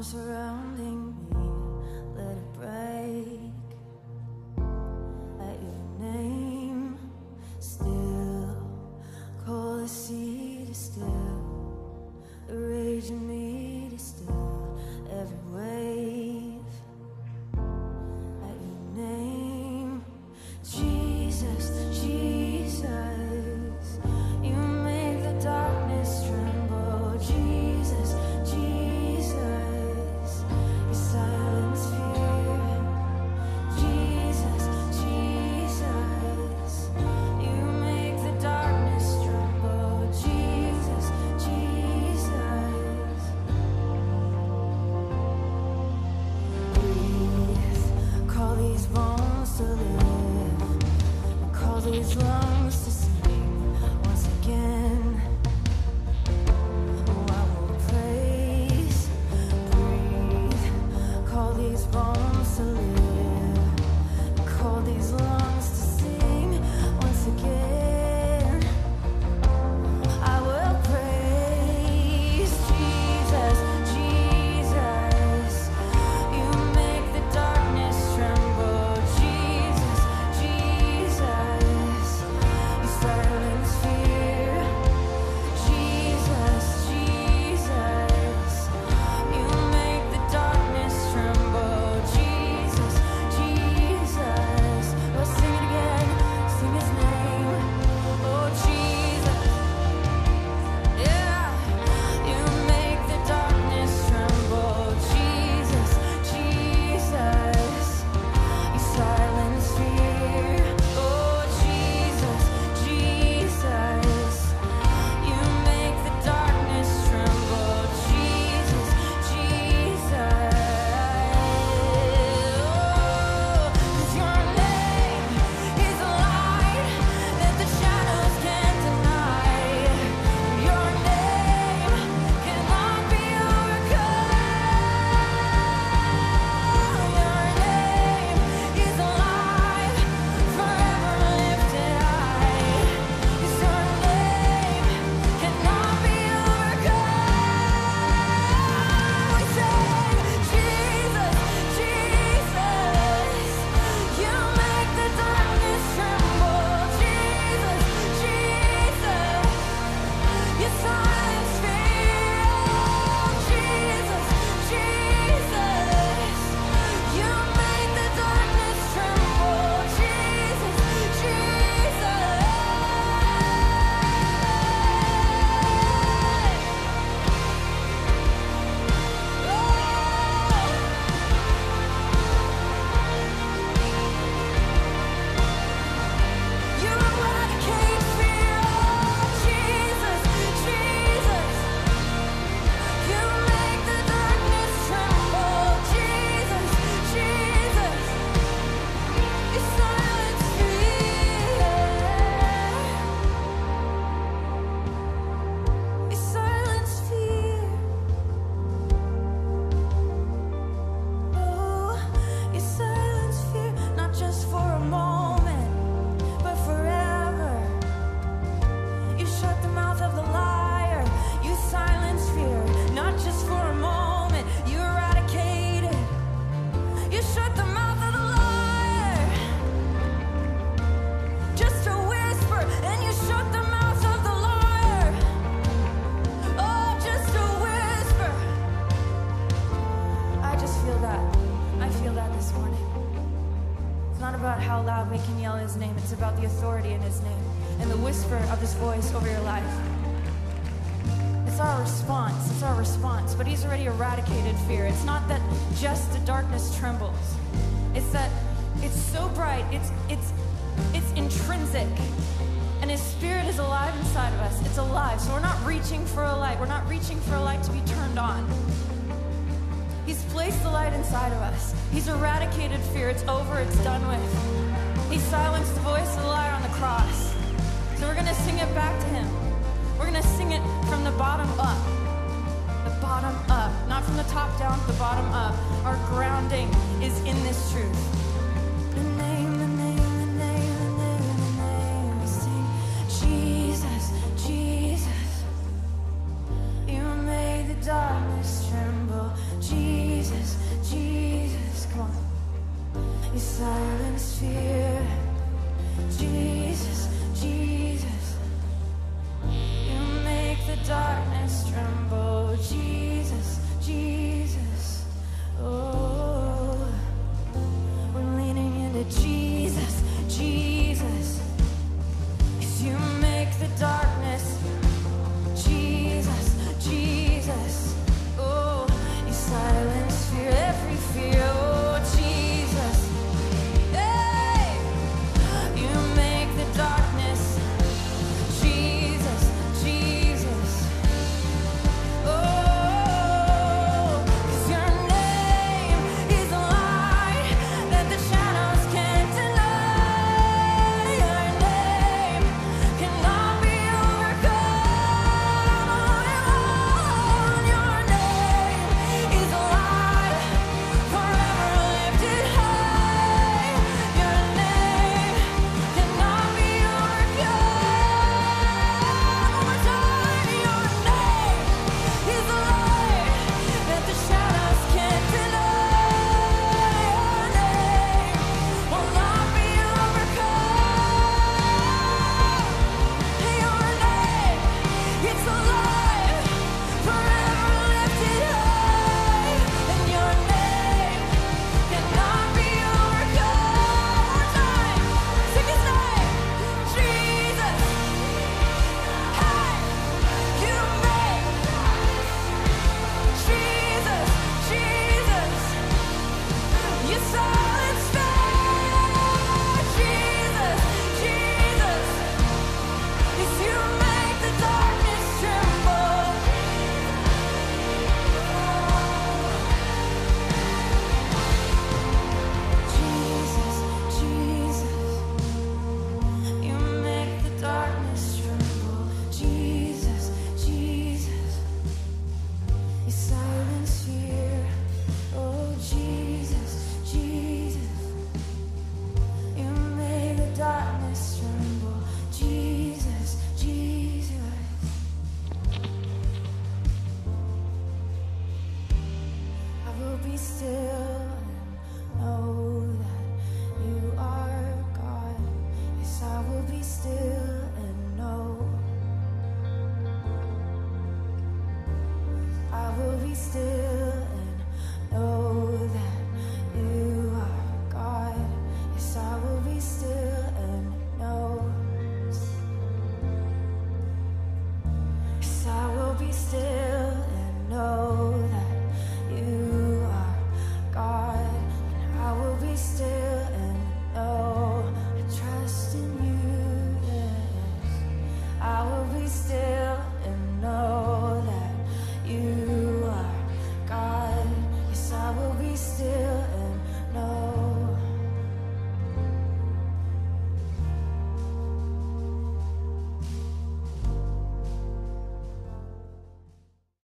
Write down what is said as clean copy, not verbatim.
surrounding me, let it break. At your name, still, call the sea to still, the rage in me to still, every wave. At your name, Jesus, Jesus, you make the darkness tremble. Jesus, Jesus, you silence fear. Jesus, Jesus, you make the darkness tremble. Jesus, Jesus, breathe, call these bones to live, and call these lungs to sing once again. Oh, I will praise, breathe, call these bones to live, and call these lungs to sing once again. I will praise Jesus, Jesus, you make the darkness tremble. Jesus, Jesus, you silence fear. Jesus, Jesus, you make the darkness tremble. Jesus, Jesus, let's sing it again, sing his name. Oh, Jesus, yeah, you make the darkness tremble. Jesus, Jesus, you silence fear. Oh, Jesus, Jesus, you make the darkness tremble. Jesus, Jesus, oh, 'cause your name is a light that the shadows can't deny. Your name cannot be overcome. Your name is alive, forever lifted high. 'Cause your name cannot be overcome. We say, Jesus, Jesus, you make the darkness tremble. Jesus, Jesus, you silence fear. Jesus, Jesus, you make the darkness tremble. Jesus, Jesus. You eradicate fear. Jesus, Jesus, you make the darkness tremble. Jesus, Jesus, you silence fear. You silence fear. Oh, you silence fear, not just for a moment, but forever. You shut the mouth of the liar. You silence fear, not just for a moment. You eradicate it. You shut the mouth of the liar. Just a whisper, and you shut the mouth of the liar. Oh, just a whisper. I just feel that. I feel that this morning. It's not about how loud we can yell his name. It's about the authority in his name and the whisper of his voice over your life. It's our response. It's our response. But he's already eradicated fear. It's not that just the darkness trembles. It's that it's so bright. It's intrinsic. And his spirit is alive inside of us. It's alive. So we're not reaching for a light. We're not reaching for a light to be turned on. He's placed the light inside of us. He's eradicated fear. It's over. It's done with. He silenced the voice of the liar on the cross. So we're going to sing it back to him. We're going to sing it from the bottom up. The bottom up. Not from the top down, the bottom up. Our grounding is in this truth.